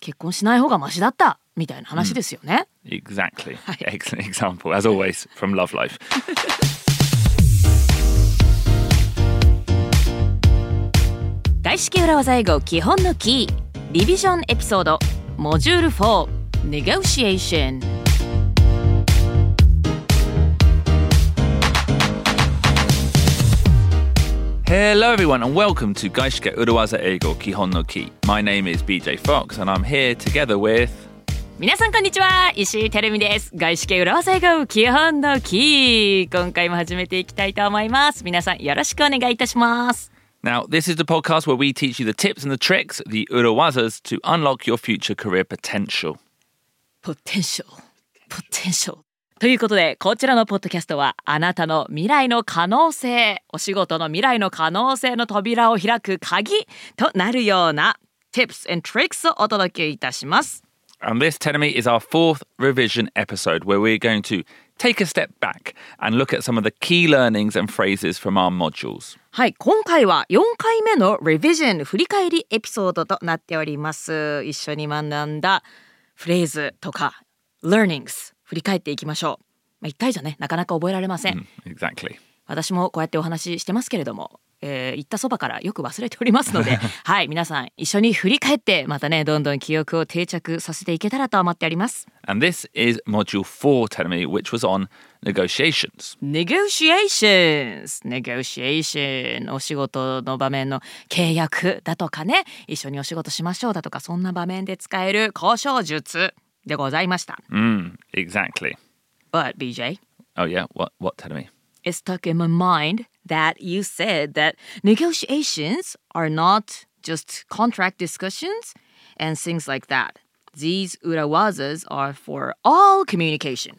結婚しない方がマシだったみたいな話ですよね。 Exactly. Excellent example, as always, from Love Life. 外資系裏技英語基本のキーリビジョンエピソードモジュール4 Negotiation。 Hello everyone and welcome to Gaishike Urawaza Eigo Kihon no Ki. My name is BJ Fox and I'm here together with... 皆さんこんにちは、石井てるみです。外資系裏技英語基本のキー、今回も始めていきたいと思います。皆さんよろしくお願いいたします。 Now, this is the podcast where we teach you the tips and the tricks, the Urawazas, to unlock your future career potential. Potential ということで、こちらのポッドキャストはあなたの未来の可能性、お仕事の未来の可能性の扉を開く鍵となるような tips and tricks をお届けいたします。 And this, Tenemi, is our 4th revision episode where we're going to take a step back and look at some of the key learnings and phrases from our modules. はい、今回は4回目の revision 振り返りエピソードとなっております。一緒に学んだフレーズとか learnings 振り返っていきましょう。1回じゃね、なかなか覚えられません。 Exactly. 私もこうやってお話ししてますけれども、言ったそばからよく忘れておりますのではい、皆さん一緒に振り返ってまたね、どんどん記憶を定着させていけたらと思っております。 And this is module 4, Tenemi, which was on negotiations. Negotiation お仕事の場面の契約だとかね、一緒にお仕事しましょうだとか、そんな場面で使える交渉術でございました。 Exactly. But BJ, Oh yeah, what Tenemi? It's stuck in my mind that you said that negotiations are not just contract discussions and things like that. These urawazas are for all communication.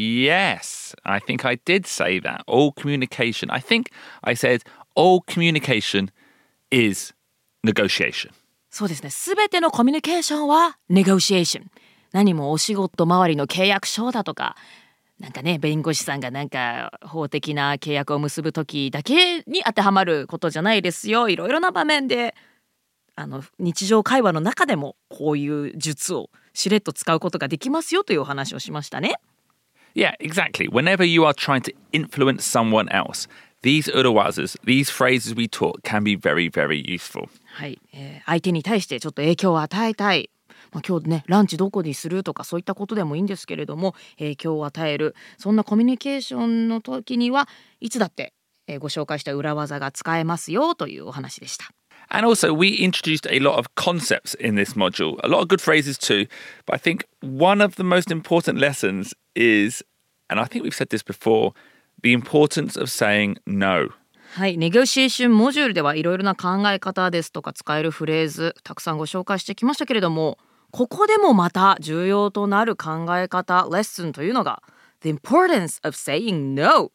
Yes, I think I did say that. All communication. I think I said all communication is negotiation. そうですね。すべてのコミュニケーションは negotiation。何もお仕事周りの契約書だとか、なんかね、弁護士さんがなんか法的な契約を結ぶ時だけに当てはまることじゃないですよ。いろいろな場面で日常会話の中でもこういう術をしれっと使うことができますよというお話をしましたね。 Yeah, exactly. Whenever you are trying to influence someone else, these urawazas, these phrases we taught can be very, very useful. はい、相手に対してちょっと影響を与えたい。今日ね、ランチどこにするとかそういったことでもいいんですけれども、影響を与える、そんなコミュニケーションの時にはいつだって、ご紹介した裏技が使えますよというお話でした。 And also, we introduced a lot of concepts in this module, a lot of good phrases too. But I think one of the most important lessons is, and I think we've said this before, the importance of saying no. はい、ネゴシエーションモジュールではいろいろな考え方ですとか使えるフレーズたくさんご紹介してきましたけれども、ここでもまた重要となる考え方、レッスンというのが The importance of saying no。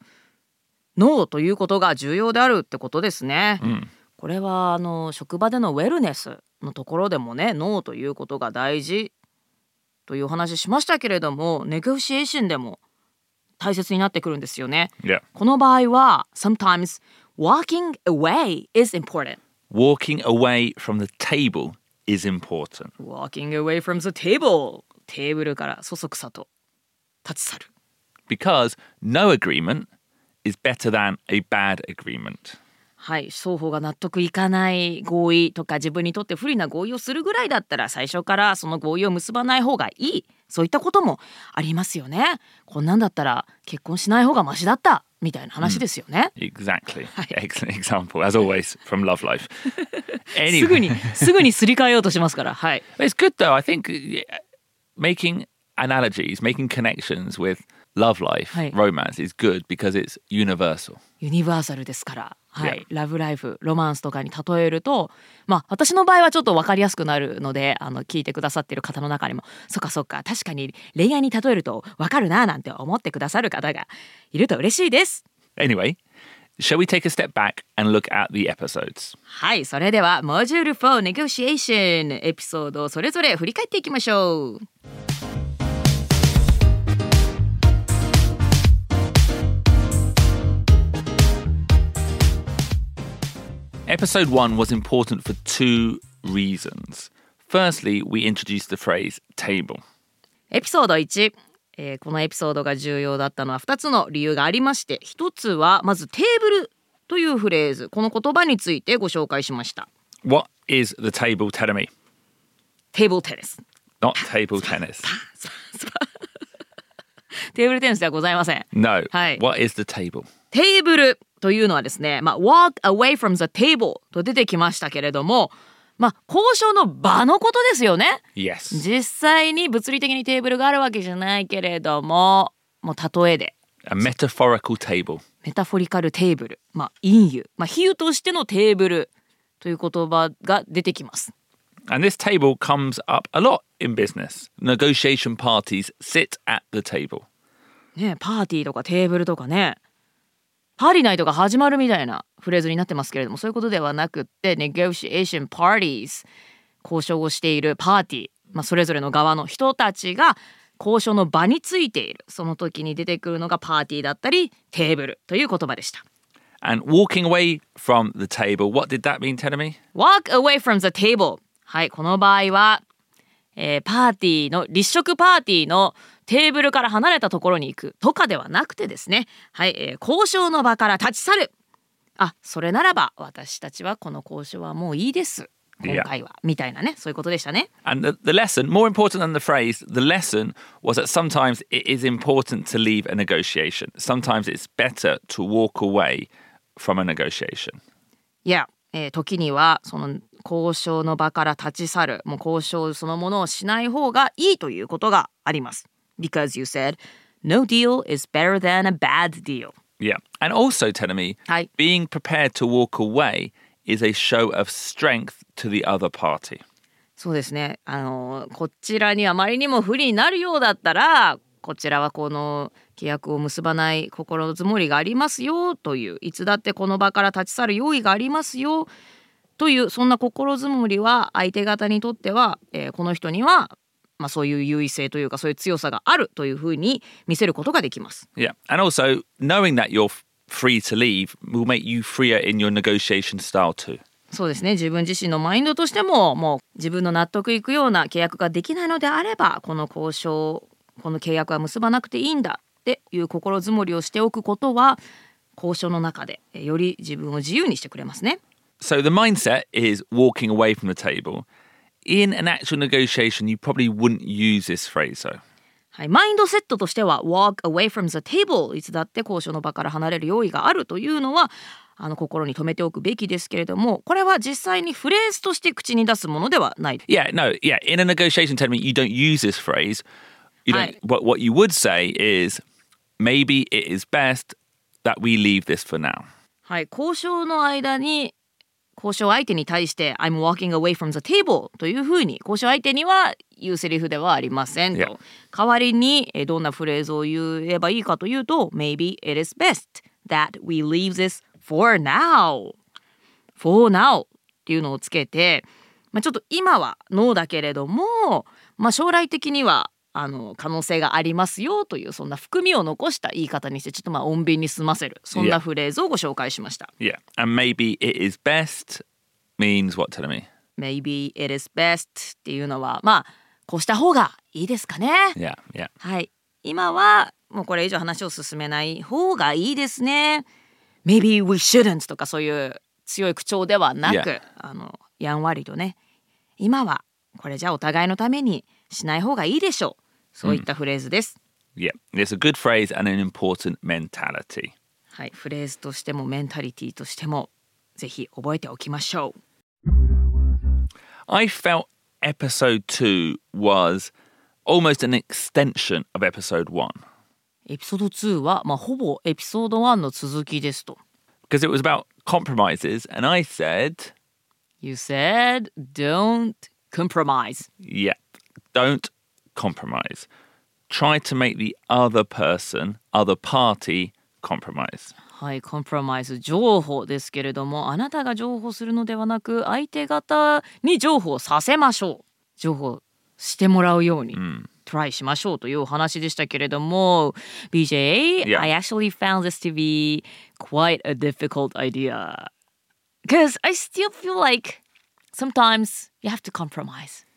No ということが重要であるってことですね。これは職場でのウェルネスのところでもね、ノーということが大事というお話しましたけれども、ネゴシエーションでも大切になってくるんですよね。 Yeah. この場合は sometimes walking away is important. Walking away from the table is important. Walking away from the table. テーブルからそそくさと立ち去る。 Because no agreement is better than a bad agreement. はい、双方が納得いかない合意とか自分にとって不利な合意をするぐらいだったら最初からその合意を結ばない方がいい、そういったこともありますよね。こんなんだったら結婚しない方がマシだったみたいな話ですよね。 Exactly. Excellent example, as always, from Love Life. Anyway. すぐにすり替えようとしますから。はい。 It's good though. I think making analogies, making connections with love life, romance is good because it's universal. ユニバーサルですから。はい、ラブライフ、ロマンスとかに例えると、私の場合はちょっと分かりやすくなるので、聞いてくださっている方の中にも、そっか確かに恋愛に例えると分かるななんて思ってくださる方がいると嬉しいです。 Anyway, shall we take a step back and look at the episodes? はい、それではモジュール4 Negotiation エピソードをそれぞれ振り返っていきましょう。 Episode 1 was important for two reasons. firstly, we introduced the phrase table. エピソード1、このエピソードが重要だったのは2つの理由がありまして、1つはまずテーブルというフレーズ、この言葉についてご紹介しました。 What is the table tennis? テーブルテニス Not table tennis. テーブルテニスではございません。 No. はい。 What is the table? テーブルというのはですね、walk away from the table と出てきましたけれども、交渉の場のことですよね。 Yes. 実際に物理的にテーブルがあるわけじゃないけれども、もう例えで A metaphorical table. メタフォリカルテーブル、隠喩、比喩としてのテーブルという言葉が出てきます。 And this table comes up a lot in business. Negotiation parties sit at the table. ね、パーティーとかテーブルとかね、パーティーナイトが始まるみたいなフレーズになってますけれども、そういうことではなくって negotiation parties、 交渉をしているパーティー、それぞれの側の人たちが交渉の場についている、その時に出てくるのがパーティーだったりテーブルという言葉でした。 And walking away from the table, what did that mean, Tenemy? walk away from the table、 はい、この場合は、パーティーの立食パーティーのテーブルから離れたところに行くとかではなくてですね、はい、交渉の場から立ち去る。それならば私たちはこの交渉はもういいです今回は、みたいなね、そういうことでしたね。 And the lesson, more important than the phrase, the lesson was that sometimes it is important to leave a negotiation. Sometimes it's better to walk away from a negotiation. いや、時にはその交渉の場から立ち去る、もう交渉そのものをしない方がいいということがあります。 Because you said no deal is better than a bad deal. Yeah. And also, Tenemy, はい、 being prepared to walk away is a show of strength to the other party. そうですね、こちらにあまりにも不利になるようだったら、こちらはこの契約を結ばない心づもりがありますよという、いつだってこの場から立ち去る用意がありますよという、そんな心づもりは相手方にとっては、この人にはそういう優位性というか、そういう強さがあるというふうに見せることができます。 Yeah. And also, knowing that you're free to leave will make you freer in your negotiation style too. そうですね、自分自身のマインドとしても、もう自分の納得いくような契約ができないのであれば、この交渉、この契約は結ばなくていいんだっていう心づもりをしておくことは、交渉の中でより自分を自由にしてくれますね。 So the mindset is walking away from the table. In an actual negotiation, you probably wouldn't use this phrase, though. はい、マインドセットとしては walk away from the table、 いつだって交渉の場から離れる用意があるというのは心に留めておくべきですけれども、これは実際にフレーズとして口に出すものではない。 Yeah, no, yeah. In a negotiation, tell me you don't use this phrase. You don't. What you would say is maybe it is best that we leave this for now. はい、交渉の間に交渉相手に対して I'm walking away from the table というふうに交渉相手には言うセリフではありませんと。 Yeah. 代わりにどんなフレーズを言えばいいかというと Maybe it is best that we leave this for now for now っていうのをつけて、ちょっと今はノーだけれども、将来的には可能性がありますよという、そんな含みを残した言い方にして、ちょっと穏便に済ませる、そんなフレーズをご紹介しました。 Yeah, and maybe it is best means what, tell me? Maybe it is best っていうのは、こうした方がいいですかね。 Yeah, yeah. はい、今はもうこれ以上話を進めない方がいいですね。 Maybe we shouldn't とかそういう強い口調ではなく、 Yeah. やんわりとね、今はこれじゃお互いのためにしない方がいいでしょう、そういったフレーズです。 Yeah, it's a good phrase and an important mentality. はい、フレーズとしてもメンタリティとしてもぜひ覚えておきましょう。 I felt episode 2 was almost an extension of episode 1. エピソード2は、ほぼエピソード1の続きですと。 Because it was about compromises, and I said, You said don't compromise. yeah, don't compromise. Try to make the other person, other party, compromise. はい、コンプロマイズ、譲歩ですけれども、あなたが譲歩するのではなく、相手方に譲歩させましょう。譲歩してもらうように、トライしましょうというお話でしたけれども、BJ, Yeah. I actually found this to be quite a difficult idea. Because I still feel like sometimes you have to compromise.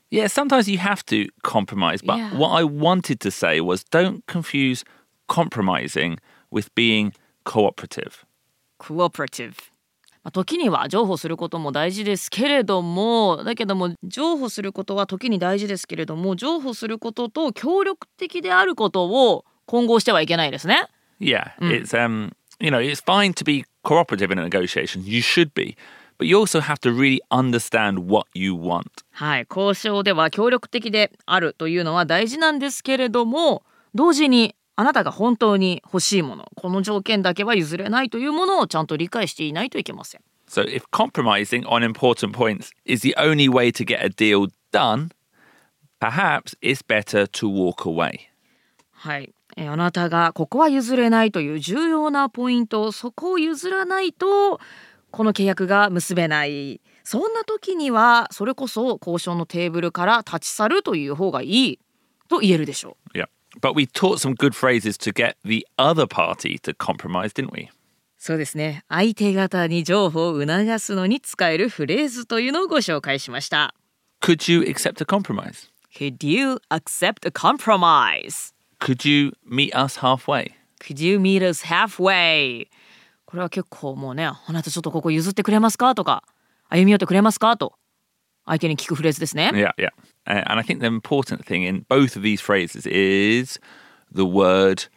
Yeah, sometimes you have to compromise. But Yeah. what I wanted to say was don't confuse compromising with being cooperative. cooperative。時には譲歩することも大事ですけれども、だけども譲歩することは時に大事ですけれども、譲歩することと協力的であることを混合してはいけないですね。 Yeah, it's it's fine to be cooperative in a negotiation. You should be. But you also have to really understand what you want. はい、交渉では協力的であるというのは大事なんですけれども、同時にあなたが本当に欲しいもの、この条件だけは譲れないというものをちゃんと理解していないといけません。 So if compromising on important points is the only way to get a deal done, perhaps it's better to walk away. はい、あなたがここは譲れないという重要なポイント、そこを譲らないとこの契約が結べない。そんな時にはそれこそ交渉のテーブルから立ち去るという方がいいと言えるでしょう。 Yeah. But we taught some good phrases to get the other party to compromise, didn't we? そうですね。相手方に譲歩を促すのに使えるフレーズというのをご紹介しました。 Could you accept a compromise? Could you accept a compromise? Could you meet us halfway? Could you meet us halfway? これは結構もうね、あなたちょっとここ譲ってくれますかとか、歩み寄ってくれますかと相手に聞くフレーズですね。 Yeah, yeah. And I think the important thing in both of these phrases is the word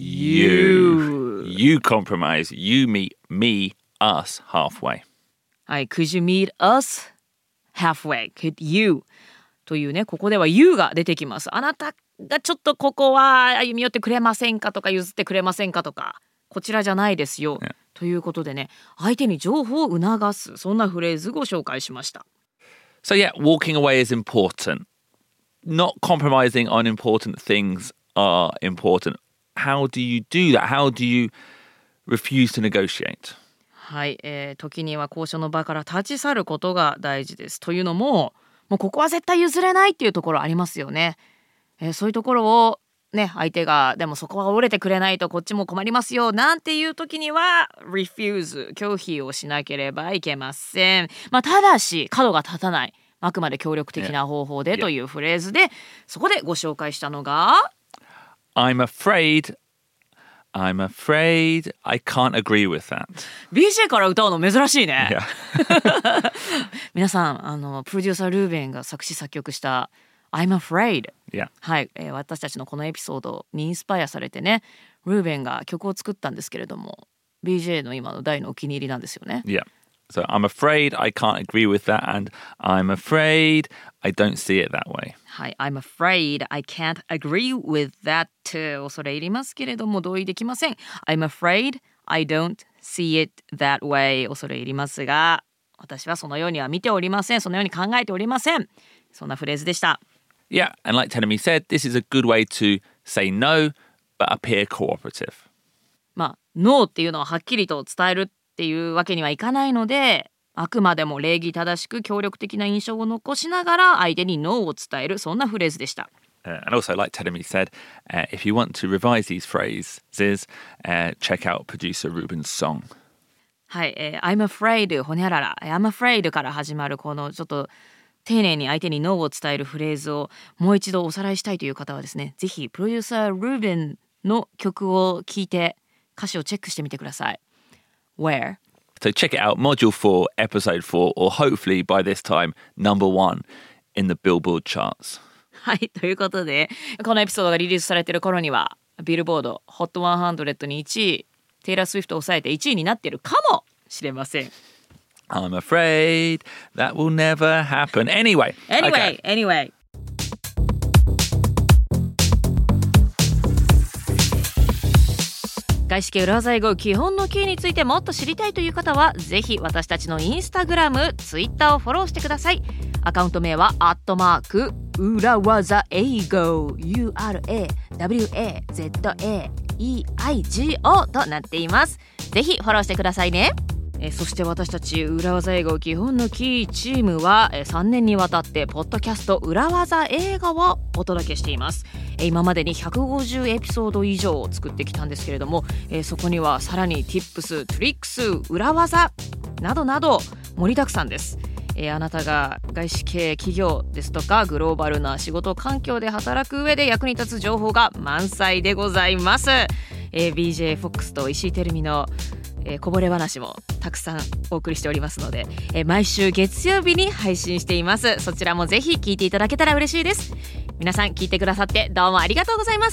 you. You compromise. You meet me, us halfway. はい、Could you meet us halfway? Could you? というね、ここでは you が出てきます。あなたがちょっとここは歩み寄ってくれませんかとか譲ってくれませんかとか、こちらじゃないですよ。 Yeah. ということでね、相手に情報を促す、そんなフレーズご紹介しました。 So yeah, walking away is important. Not compromising on important things are important. How do you do that? How do you refuse to negotiate? はい、時には交渉の場から立ち去ることが大事です。というのも、もうここは絶対譲れないっていうところありますよね。そういうところをね、相手がでもそこは折れてくれないとこっちも困りますよなんていう時には refuse 拒否をしなければいけません。ただし角が立たない、あくまで協力的な方法でというフレーズで、そこでご紹介したのが I'm afraid I can't agree with that. BJ から歌うの珍しいね。 Yeah. 皆さんプロデューサールーベンが作詞作曲したI'm afraid、 Yeah. はい、私たちのこのエピソードにインスパイアされてね、ルーベンが曲を作ったんですけれども BJ の今の大のお気に入りなんですよね。 Yeah. So I'm afraid I can't agree with that and I'm afraid I don't see it that way. はい、I'm afraid I can't agree with that 恐れ入りますけれども同意できません。 I'm afraid I don't see it that way 恐れ入りますが、私はそのようには見ておりません、そのように考えておりません。そんなフレーズでした。 Yeah, and like Tenemi said, this is a good way to say no, but appear cooperative. No っていうのをはっきりと伝えるっていうわけにはいかないので、あくまでも礼儀正しく協力的な印象を残しながら相手に No を伝える、そんなフレーズでした。 And also, like Tenemi said, if you want to revise these phrases, check out producer Ruben's song. はい、I'm afraid ほにゃらら I'm afraid から始まるこのちょっと丁寧に相手に No を伝えるフレーズをもう一度おさらいしたいという方はですね、ぜひプロデューサールーベンの曲を聴いて歌詞をチェックしてみてください。 Where? So check it out, Module 4, Episode 4, or hopefully by this time, number 1 in the Billboard charts. はい、ということでこのエピソードがリリースされている頃にはビルボード HOT100 に1位、テイラー・スウィフトを抑えて1位になっているかもしれません。 I'm afraid that will never happen. Anyway. Anyway. 外資系裏技英語基本のキーについてもっと知りたいという方はぜひ私たちのインスタグラム、ツイッターをフォローしてください。アカウント名は@裏技英語 URAWAZAEIGO となっています。ぜひフォローしてくださいね。そして私たち裏技英語基本のキーチームは3年にわたってポッドキャスト裏技映画をお届けしています。今までに150エピソード以上を作ってきたんですけれども、そこにはさらに Tips、Tricks、裏技などなど盛りだくさんです。 あなたが外資系企業ですとかグローバルな仕事環境で働く上で役に立つ情報が満載でございます。BJ フォックスと石井てるみのこぼれ話もたくさんお送りしておりますので、毎週月曜日に配信しています。そちらもぜひ聞いていただけたら嬉しいです。皆さん聞いてくださってどうもありがとうございます。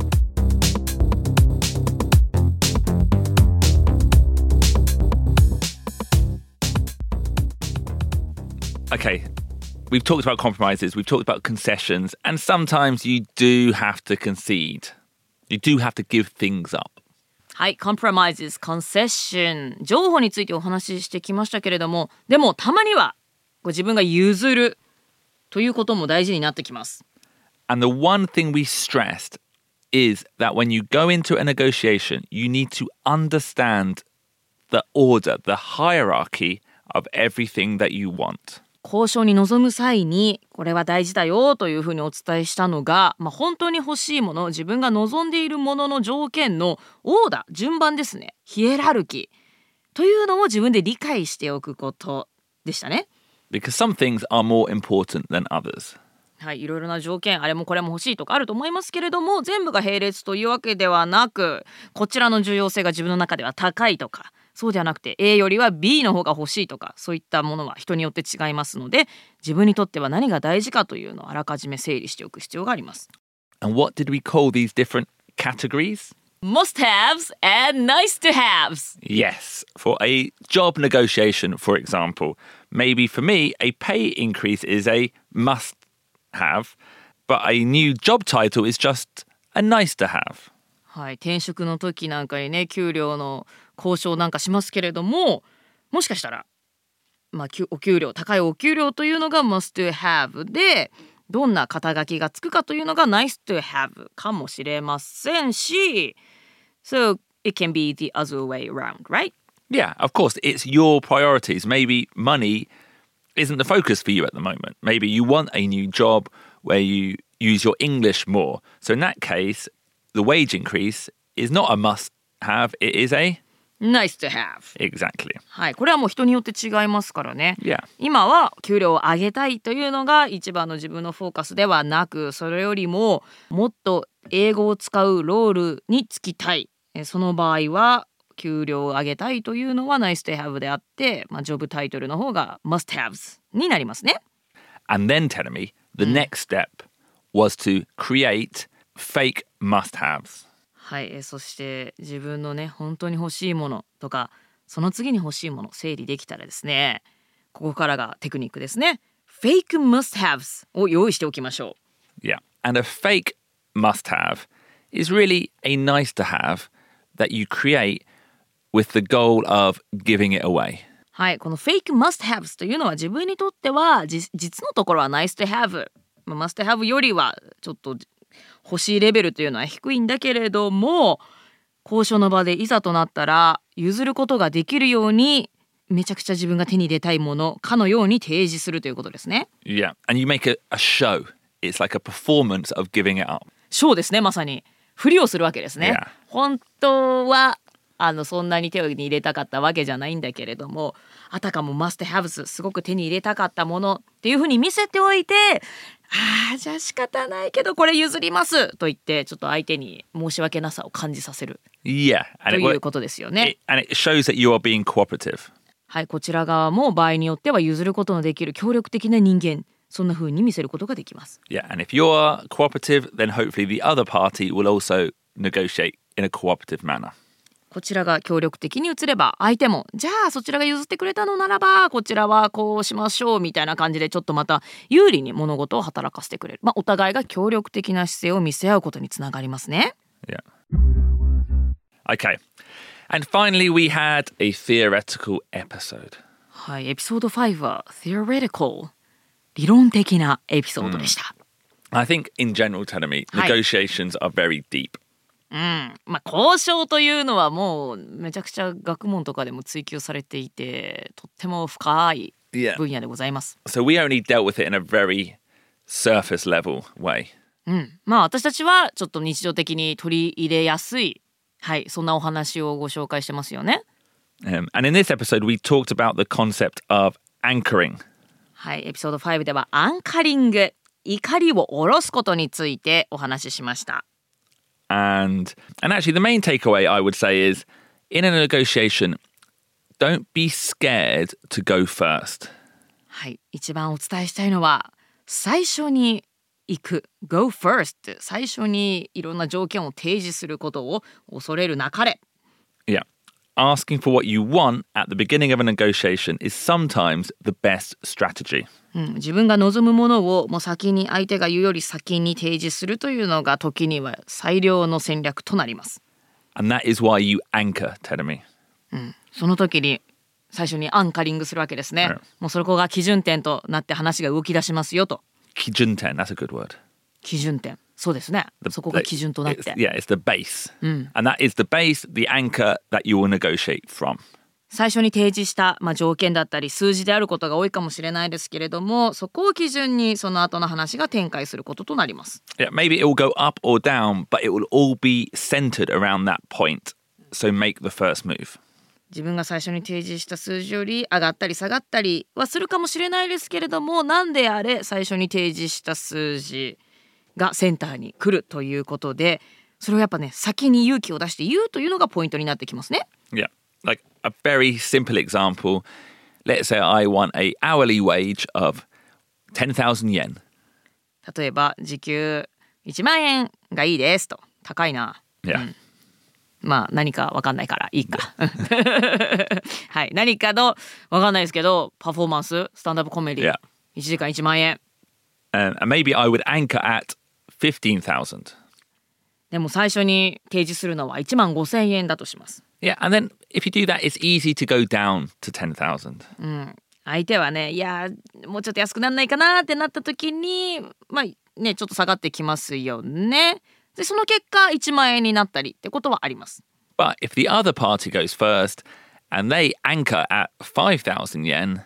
Okay, we've talked about compromises, we've talked about concessions, and sometimes you do have to concede. You do have to give things up. はい、compromises, concession 譲歩についてお話ししてきましたけれども、でもたまにはご自分が譲るということも大事になってきます。 And the one thing we stressed is that when you go into a negotiation, you need to understand the order, the hierarchy of everything that you want. 交渉に臨む際にこれは大事だよというふうにお伝えしたのが、本当に欲しいもの、自分が望んでいるものの条件のオーダー、順番ですね。ヒエラルキーというのを自分で理解しておくことでしたね。 Because some things are more important than others. はい、いろいろな条件、あれもこれも欲しいとかあると思いますけれども、全部が並列というわけではなく、こちらの重要性が自分の中では高いとか、そうではなくて A よりは B の方が欲しいとか、そういったものは人によって違いますので、自分にとっては何が大事かというのをあらかじめ整理しておく必要があります。 And what did we call these different categories? Must-haves and nice-to-haves. Yes, for a job negotiation, for example. Maybe for me, a pay increase is a must-have, but a new job title is just a nice-to-have. はい、転職の時なんかにね、給料の交渉なんかしますけれども、もしかしたら、お給料、高いお給料というのが must to have で、どんな肩書きがつくかというのが nice to have かもしれませんし、So it can be the other way around, right? Yeah, of course, it's your priorities. Maybe money isn't the focus for you at the moment. Maybe you want a new job where you use your English more. So in that case, the wage increase is not a must-have, it is a nice to have. Exactly. はい、これはもう人によって違いますからね。 Yeah. 今は給料を上げたいというのが一番の自分のフォーカスではなく、それよりももっと英語を使うロールに就きたい。その場合は給料を上げたいというのは nice to have であって、ジョブタイトルの方が must haves になりますね。 And then tell me, the next step was to create fake must-haves. はい、そして自分のね、本当に欲しいものとか、その次に欲しいもの整理できたらですね、ここからがテクニックですね。fake must-haves を用意しておきましょう。Yeah, and a fake must-have is really a nice-to-have that you create with the goal of giving it away. はい、この fake must-haves というのは自分にとっては実のところは nice to have、must to have よりはちょっと欲しいレベルというのは低いんだけれども、交渉の場でいざとなったら譲ることができるように、めちゃくちゃ自分が手に入れたいものかのように提示するということですね。 Yeah, and you make a show. It's like a performance of giving it up. ショーですね、まさに。ふりをするわけですね。 Yeah. 本当はそんなに手に入れたかったわけじゃないんだけれども、あたかも must haves すごく手に入れたかったものっていうふうに見せておいて、じゃあ仕方ないけどこれ譲りますと言って、ちょっと相手に申し訳なさを感じさせる、 Yeah, ということですよね。 and it shows that you are being cooperative. はい、こちら側も場合によっては譲ることのできる協力的な人間、そんな風に見せることができます。 Yeah, and if you're cooperative, then hopefully the other party will also negotiate in a cooperative manner. こちらが協力的に移れば、相手もじゃあそちらが譲ってくれたのならばこちらはこうしましょうみたいな感じで、ちょっとまた有利に物事を働かせてくれる、お互いが協力的な姿勢を見せ合うことにつながりますね。 Yeah. Okay. And finally we had a theoretical episode. はい、エピソード5は theoretical、 理論的なエピソードでした。 I think in general, Tanami, negotiations are very deep. 交渉というのはもうめちゃくちゃ学問とかでも追求されていて、とっても深い分野でございます。 So we only dealt with it in a very surface level way. 私たちはちょっと日常的に取り入れやすい、はい、そんなお話をご紹介してますよね。 And in this episode, we talked about the concept of anchoring. はい、エピソード5ではアンカリング、怒りを下ろすことについてお話ししました。 And actually the main takeaway I would say is in a negotiation, don't be scared to go first. はい、一番お伝えしたいのは最初に行く Go first 最初にいろんな条件を提示することを恐れるなかれ。 Yeah. Asking for what you want at the beginning of a negotiation is sometimes the best strategy. 自分が望むものをもう先に相手が言うより先に提示するというのが時には最良の戦略となります。 And that is why you anchor, Terumi. その時に最初にアンカリングするわけですね。もうそこが基準点となって話が動き出しますよと。 基準点, that's a good word. 基準点、そうですね。そこが基準となって。 Yeah, it's the base. And that is the base, the anchor that you will negotiate from. 最初に提示した、条件だったり数字であることが多いかもしれないですけれども、そこを基準にその後の話が展開することとなります。 Yeah, maybe it will go up or down, but it will all be centered around that point. So make the first move. 自分が最初に提示した数字より上がったり下がったりはするかもしれないですけれども、なんであれ最初に提示した数字がセンターに来るということで、それをやっぱね先に勇気を出して言うというのがポイントになってきますね。 Yeah, like a very simple example. Let's say I want a hourly wage of 10,000 yen. 例えば時給1万円がいいですと。高いな。 Yeah. 何か分かんないからいいかはい、何かの分かんないですけどパフォーマンススタンドアップコメディ、1時間1万円、 and maybe I would anchor at 15,000. でも最初に提示するのは1万5,000円だとします。 Yeah, and then if you do that, it's easy to go down to 10,000. 相手はね、いやもうちょっと安くなんないかなってなった時にちょっと下がってきますよね。でその結果1万円になったりってことはあります。 But if the other party goes first and they anchor at 5,000 yen,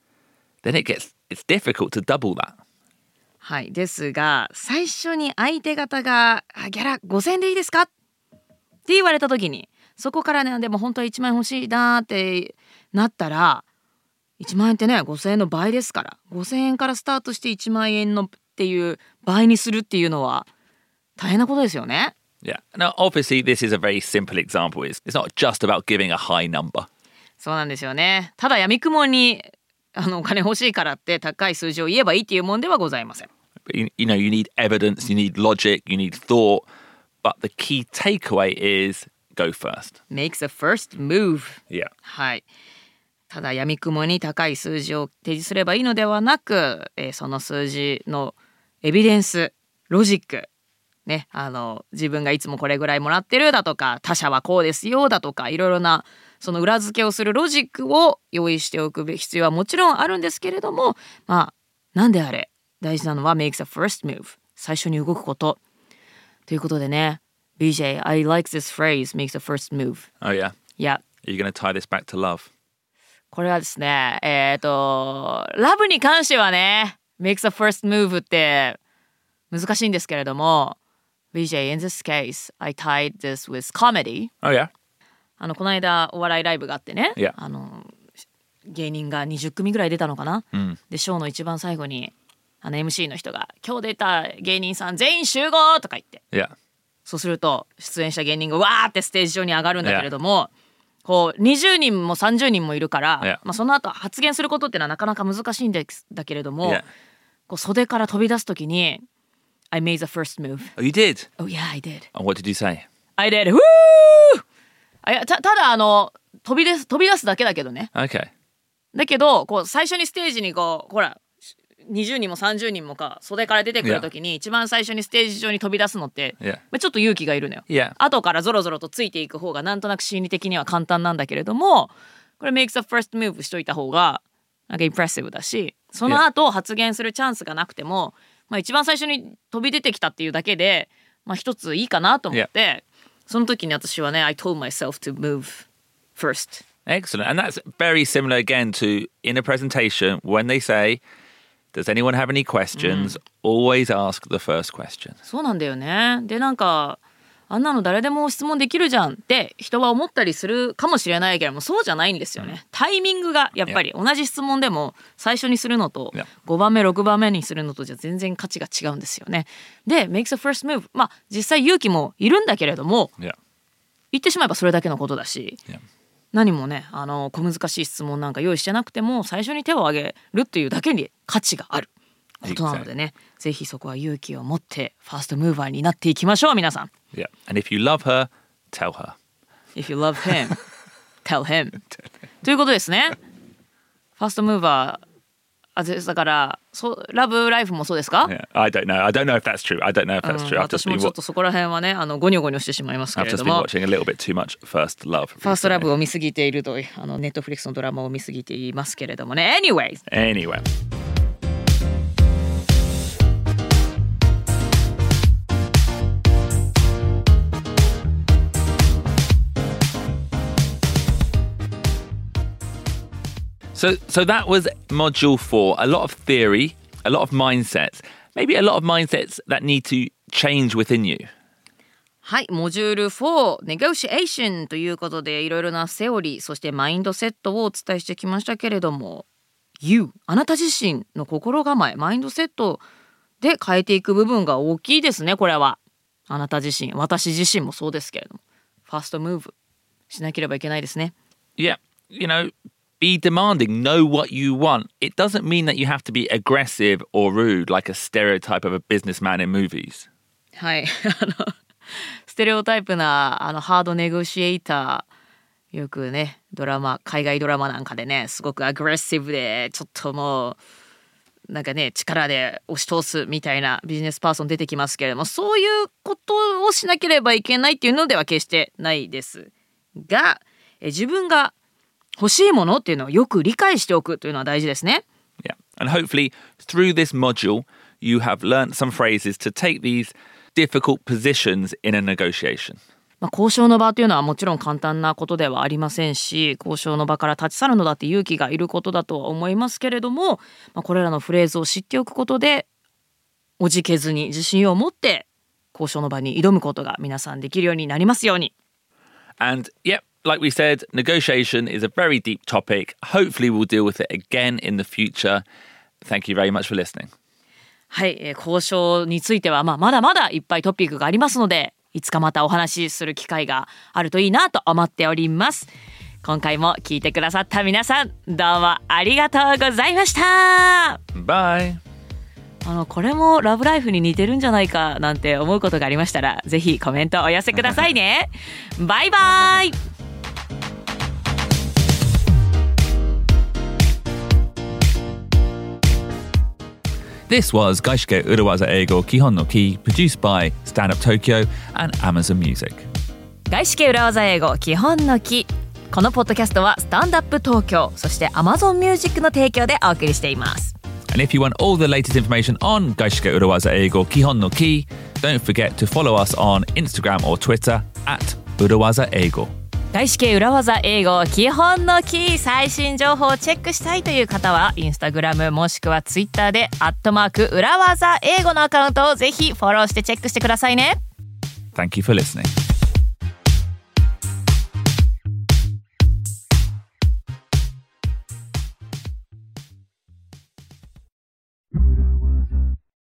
then it's difficult to double that. はい、ですが最初に相手方がギャラ5,000円でいいですかって言われた時に、そこからねでも本当は1万円欲しいなってなったら、1万円ってね5,000円の倍ですから、5,000円からスタートして1万円のっていう倍にするっていうのは大変なことですよね。 Yeah. Now, obviously, this is a very simple example. It's not just about giving a high number. そうなんですよね。ただ闇雲にお金欲しいからって高い数字を言えばいいっていうもんではございません。 But you know, you need evidence, you need logic, you need thought. But the key takeaway is go first. Make the first move. Yeah. はい。ただ闇雲に高い数字を提示すればいいのではなく、その数字のエビデンス、ロジックね、自分がいつもこれぐらいもらってるだとか、他社はこうですよだとか、いろいろなその裏付けをするロジックを用意しておく必要はもちろんあるんですけれども、なんであれ大事なのは make the first move、 最初に動くことということでね。 BJ, I like this phrase, make the first move. Oh, yeah? Yeah. Are you going to tie this back to love? これはですね、ラブに関してはね make the first move って難しいんですけれども、BJ, in this case, I tied this with comedy. Oh, yeah? この間お笑いライブがあってね、 Yeah. 芸人が20組ぐらい出たのかな、でショーの一番最後にMC の人が今日出た芸人さん全員集合とか言って、 Yeah. そうすると出演した芸人がわーってステージ上に上がるんだけれども、こう20人も30人もいるから、その後発言することってのはなかなか難しいんだけれども、こう袖から飛び出すときにI made the first move. Oh, you did? Oh yeah, I did. And what did you say? I did. Woo! ただ飛び出すだけだけどね。 Okay. だけどこう最初にステージにこうほら20人も30人もか袖から出てくるときに、一番最初にステージ上に飛び出すのって、ちょっと勇気がいるのよ。後からゾロゾロとついていく方がなんとなく心理的には簡単なんだけれども、これ make the first move しといた方がなんかインプレッシブだし、その後発言するチャンスがなくても、一番最初に飛び出てきたっていうだけで、一ついいかなと思って、その時に私はね I told myself to move first. Excellent. And that's very similar again to in a presentation when they say, does anyone have any questions? Always ask the first question. そうなんだよね。でなんかあんなの誰でも質問できるじゃんって人は思ったりするかもしれないけれども、そうじゃないんですよね。タイミングがやっぱり同じ質問でも最初にするのと5番目6番目にするのとじゃ全然価値が違うんですよね。で makes a first move、 まあ実際勇気もいるんだけれども、言ってしまえばそれだけのことだし、何もね小難しい質問なんか用意してなくても最初に手を挙げるっていうだけに価値があることなのでね、ぜひそこは勇気を持ってファーストムーバーになっていきましょう皆さん。 Yeah. And if you love her, tell her. If you love him, tell him. ということですね。ファーストムーバーだからラブライフもそうですか？ Yeah. I don't know if that's true. I don't know if that's true. 私もちょっとそこら辺はねゴニョゴニョしてしまいますけれども。 I've just been watching a little bit too much First Love. ファーストラブを見すぎているとネットフリックスのドラマを見すぎていますけれどもね。 Anyway. So that was module 4. A lot of theory, a lot of mindsets, maybe a lot of mindsets that need to change within you. はい、モジュール4 Negotiation ということでいろいろなセオリーそしてマインドセットをお伝えしてきましたけれども、 You あなた自身の心構えマインドセットで変えていく部分が大きいですね。これはあなた自身私自身もそうですけれどもファーストムーブしなければいけないですね。 Yeah, you know,Be demanding, know what you want. It doesn't mean that you have to be aggressive or rude like a stereotype of a businessman in movies. はいステレオタイプなハードネゴシエーターよくね海外ドラマなんかでねすごくアグレッシブでちょっともうなんかね力で押し通すみたいなビジネスパーソン出てきますけれども、そういうことをしなければいけないっていうのでは決してないですが、自分が欲しいものっていうのをよく理解しておくというのは大事ですね。 Yeah, and hopefully through this module you have learnt some phrases to take these difficult positions in a negotiation. 交渉の場というのはもちろん簡単なことではありませんし、交渉の場から立ち去るのだって勇気がいることだとは思いますけれども、これらのフレーズを知っておくことでおじけずに自信を持って交渉の場に挑むことが皆さんできるようになりますように。 And yep,Like we said, negotiation is a very deep topic. Hopefully we'll deal with it again in the future. Thank you very much for listening. はい、交渉についてはまだまだいっぱいトピックがありますので、いつかまたお話しする機会があるといいなと思っております。今回も聞いてくださった皆さん、どうもありがとうございました。 Bye. これもラブライフに似てるんじゃないかなんて思うことがありましたら、ぜひコメントお寄せくださいね。バイバイ。 This was Gaishike Urawaza Eigo Kihon no Ki, produced by Stand Up Tokyo and Amazon Music. 外資系裏技英語基本のき。このポッドキャストはスタンドアップ東京そして Amazon Music の提供でお送りしています。 And if you want all the latest information on Gaishike Urawaza Eigo Kihon no Ki, don't forget to follow us on Instagram or Twitter at Urawaza Eigo. 外資系裏技英語基本のキー最新情報をチェックしたいという方はインスタグラムもしくはツイッターで@裏技英語のアカウントをぜひフォローしてチェックしてくださいね。 Thank you for listening.